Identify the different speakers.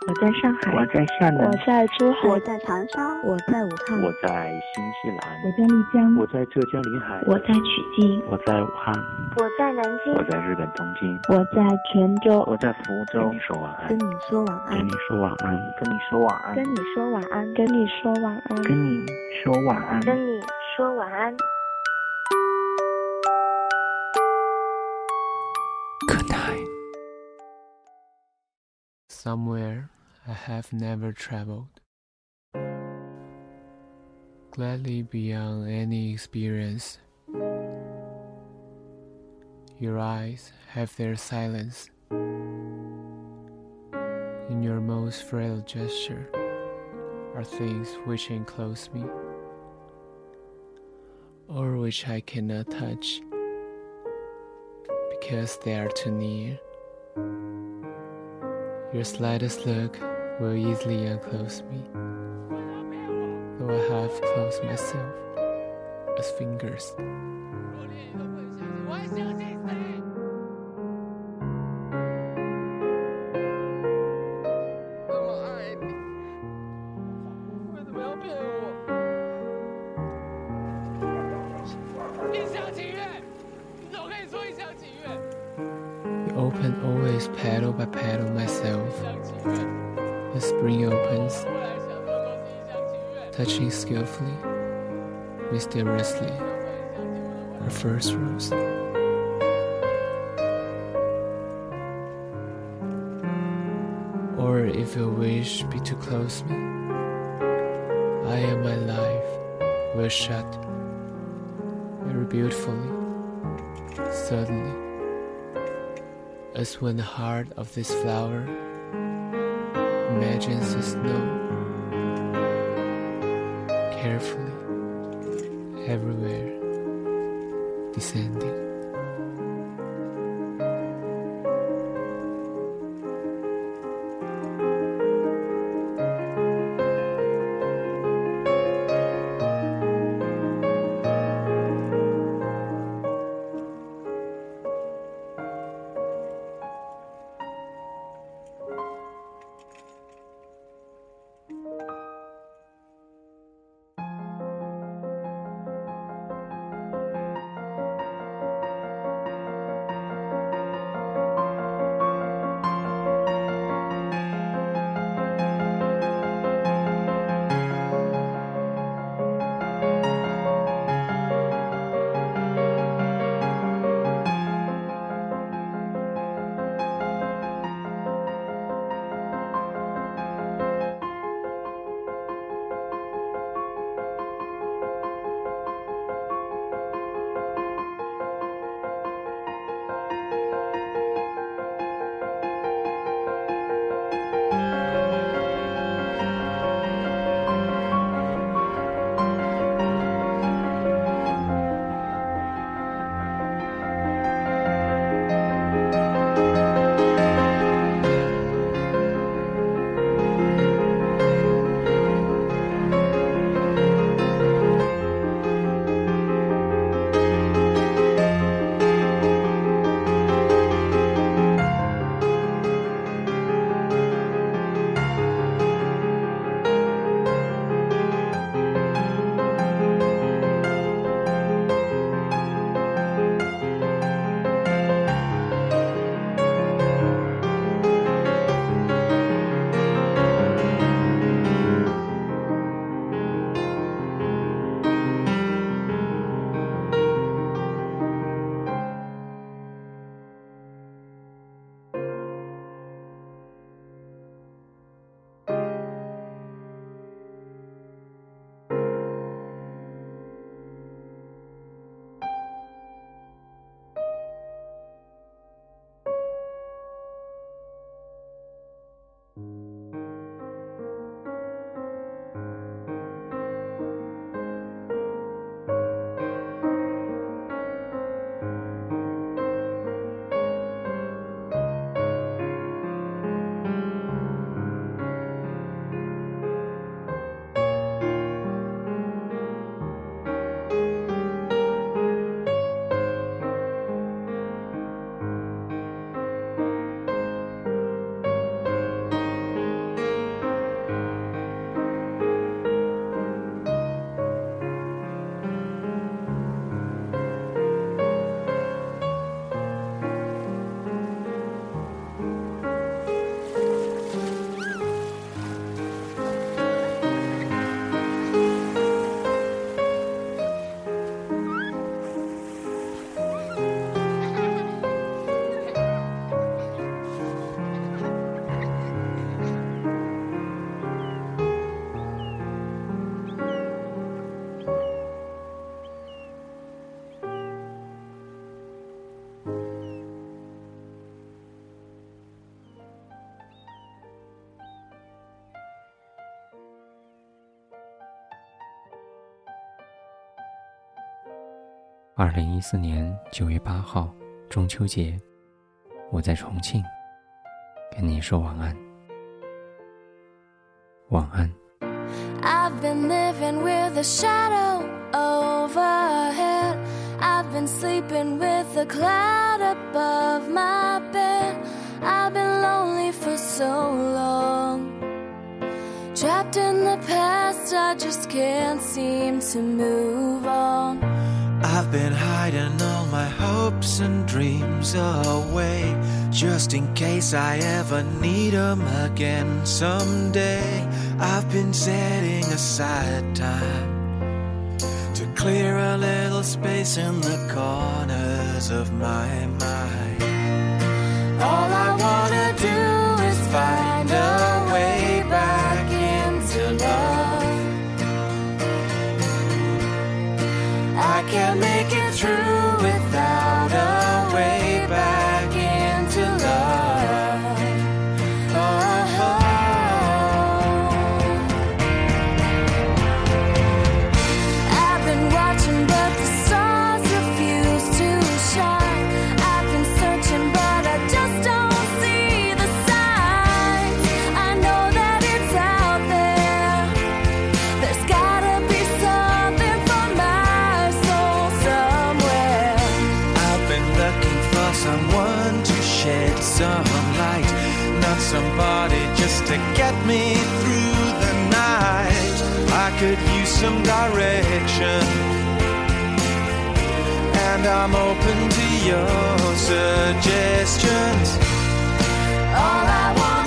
Speaker 1: 我在上海，
Speaker 2: 我在厦门，
Speaker 3: 我在珠海，
Speaker 4: 我在长沙，
Speaker 3: 我在武汉，
Speaker 2: 我在新西兰，
Speaker 1: 我在丽江，
Speaker 2: 我在浙江临海，
Speaker 1: 我在曲靖，
Speaker 2: 我在武汉，
Speaker 4: 我在南京，
Speaker 2: 我在日本东京，
Speaker 3: 我在泉州，
Speaker 2: 我在福州。跟你说晚安，
Speaker 4: 跟你说晚安，
Speaker 2: 跟你说晚安，跟你说晚安，
Speaker 4: 跟你说晚安，
Speaker 3: 跟你说晚安，
Speaker 2: 跟你说晚安，
Speaker 4: 跟你说晚安。
Speaker 2: Good night.
Speaker 5: Somewhere I have never traveled, gladly beyond any experience. Your eyes have their silence. In your most frail gesture are things which enclose me, or which I cannot touch, because they are too near. Your slightest look will easily unclose me, though I have closed myself as fingers. Open always petal by petal myself. The spring opens, touching skillfully, mysteriously, our first rose. Or if your wish be to close me, I and my life will shut very beautifully, suddenly, as when the heart of this flower imagines the snow, carefully, everywhere, descending.
Speaker 6: 2014年9月8号中秋节，我在重庆跟你说晚安。晚安。
Speaker 7: I've been living with a shadow overhead. I've been sleeping with a cloud above my bed. I've been lonely for so long, trapped in the past, I just can't seem to move on.
Speaker 8: I've been hiding all my hopes and dreams away, just in case I ever need them again someday. I've been setting aside time to clear a little space in the corners of my mind. All I wanna do is find a way back into love. I can't make it through without a way back into love. Oh. I've been watching but the stars refuse to shine. I've been searching but I just don't see the signs. I know that it's out there. There's gotta be something for my soul somewhere. I've been looking for someone to shed some light, not somebody just to get me through the night. I could use some direction, and I'm open to your suggestions. All I want